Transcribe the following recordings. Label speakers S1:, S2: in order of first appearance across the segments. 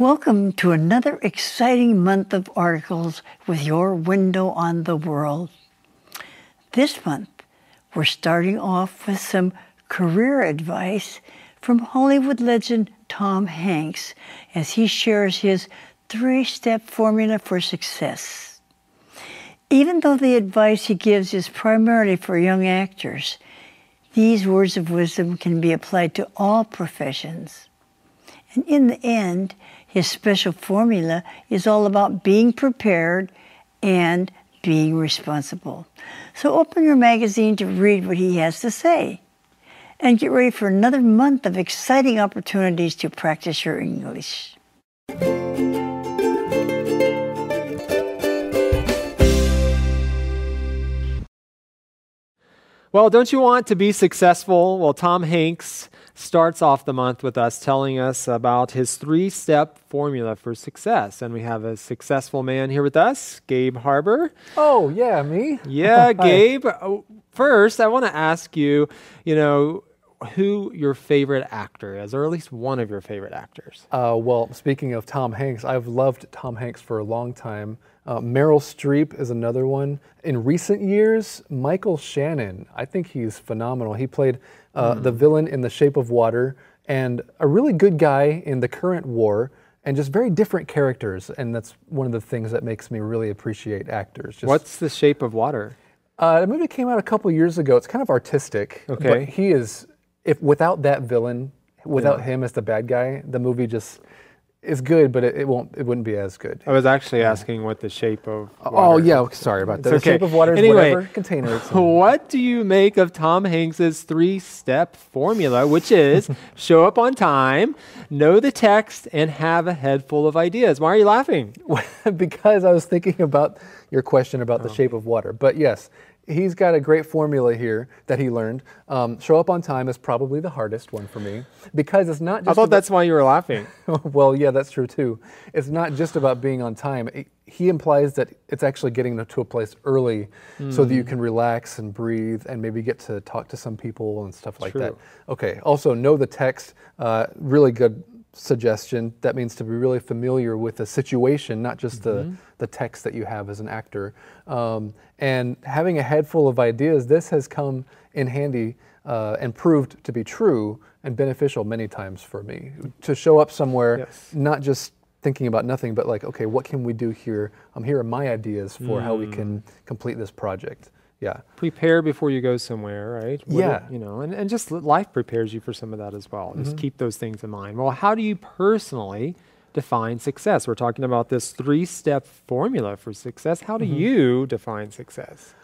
S1: Welcome to another exciting month of articles with your window on the world. This month, we're starting off with some career advice from Hollywood legend Tom Hanks as he shares his 3-step formula for success. Even though the advice he gives is primarily for young actors, these words of wisdom can be applied to all professions. And in the end, his special formula is all about being prepared and being responsible. So open your magazine to read what he has to say. And get ready for another month of exciting opportunities to practice your English.
S2: Well, don't you want to be successful? Well, Tom Hanks starts off the month with us telling us about his 3-step formula for success. And we have a successful man here with us, Gabe Harbor.
S3: Oh, yeah, me?
S2: Yeah, Gabe. First, I want to ask you, who your favorite actor is, or at least one of your favorite actors.
S3: Well, speaking of Tom Hanks, I've loved Tom Hanks for a long time. Meryl Streep is another one. In recent years, Michael Shannon, I think he's phenomenal. He played the villain in The Shape of Water and a really good guy in The Current War, and just very different characters. And that's one of the things that makes me really appreciate actors.
S2: What's The Shape of Water?
S3: The movie came out a couple years ago. It's kind of artistic,
S2: okay.
S3: But he is, without that villain, without him as the bad guy, the movie just is good, but it wouldn't be as good.
S2: I was actually asking what The Shape of Water.
S3: Oh yeah, sorry about that. The Shape of Water is whatever container it's in.
S2: What do you make of Tom Hanks's 3-step formula, which is show up on time, know the text, and have a head full of ideas? Why are you laughing?
S3: Because I was thinking about your question about The Shape of Water. But yes, he's got a great formula here that he learned. Show up on time is probably the hardest one for me because it's not just
S2: I thought that's why you were laughing.
S3: Well, yeah, that's true too. It's not just about being on time. He implies that it's actually getting to a place early so that you can relax and breathe and maybe get to talk to some people and stuff like that. Okay, also know the text, really good suggestion. That means to be really familiar with the situation, not just the text that you have as an actor. And having a head full of ideas, this has come in handy and proved to be true and beneficial many times for me. To show up somewhere, not just thinking about nothing, but like, okay, what can we do here? Here are my ideas for how we can complete this project. Yeah.
S2: Prepare before you go somewhere, right?
S3: Yeah.
S2: And just life prepares you for some of that as well. Just keep those things in mind. Well, how do you personally define success? We're talking about this 3-step formula for success. How do you define success?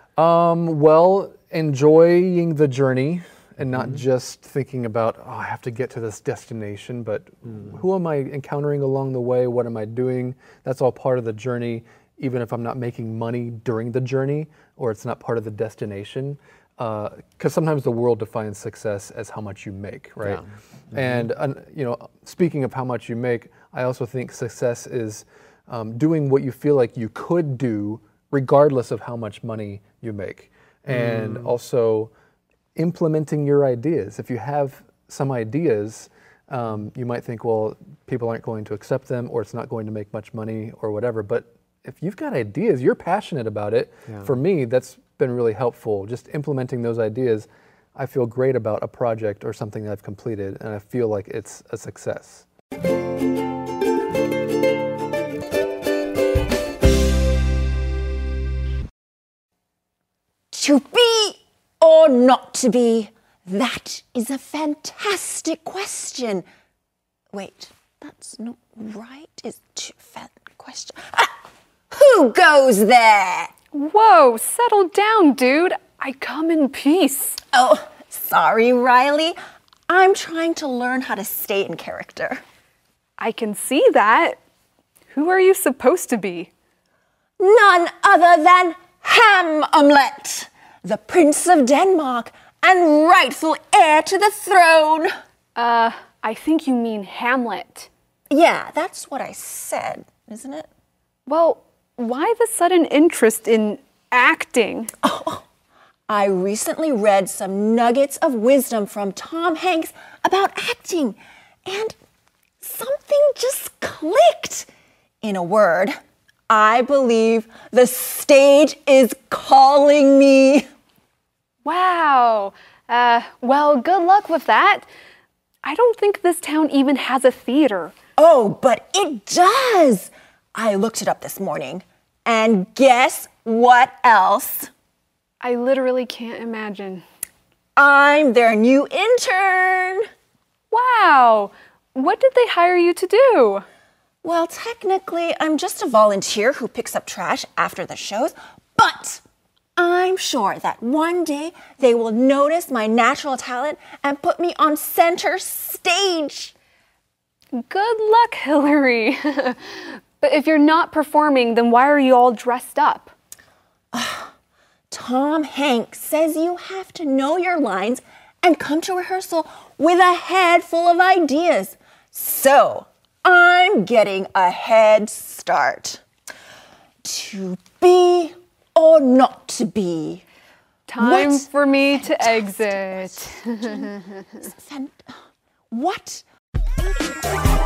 S3: Well, enjoying the journey and not just thinking about, I have to get to this destination, but who am I encountering along the way? What am I doing? That's all part of the journey, even if I'm not making money during the journey or it's not part of the destination. Because sometimes the world defines success as how much you make, right? Yeah. And speaking of how much you make, I also think success is doing what you feel like you could do regardless of how much money you make. And also implementing your ideas. If you have some ideas, you might think, well, people aren't going to accept them or it's not going to make much money or whatever. But if you've got ideas, you're passionate about it. Yeah. For me, that's been really helpful. Just implementing those ideas, I feel great about a project or something that I've completed, and I feel like it's a success.
S4: To be or not to be? That is a fantastic question. Wait, that's not right. It's too question. Who goes there?
S5: Whoa, settle down, dude. I come in peace.
S4: Oh, sorry, Riley. I'm trying to learn how to stay in character.
S5: I can see that. Who are you supposed to be?
S4: None other than Hamlet, the Prince of Denmark and rightful heir to the throne.
S5: I think you mean Hamlet.
S4: Yeah, that's what I said, isn't it?
S5: Well, why the sudden interest in acting?
S4: Oh, I recently read some nuggets of wisdom from Tom Hanks about acting, and Something just clicked. In a word, I believe the stage is calling me.
S5: Wow. Well, good luck with that. I don't think this town even has a theater.
S4: Oh, but it does. I looked it up this morning. And guess what else?
S5: I literally can't imagine.
S4: I'm their new intern.
S5: Wow. What did they hire you to do?
S4: Well, technically, I'm just a volunteer who picks up trash after the shows, but I'm sure that one day they will notice my natural talent and put me on center stage.
S5: Good luck, Hillary. But if you're not performing, then why are you all dressed up?
S4: Tom Hanks says you have to know your lines and come to rehearsal with a head full of ideas. So, I'm getting a head start. To be or not to be?
S5: Time
S4: What
S5: for me to
S4: fantastic
S5: exit.
S4: What?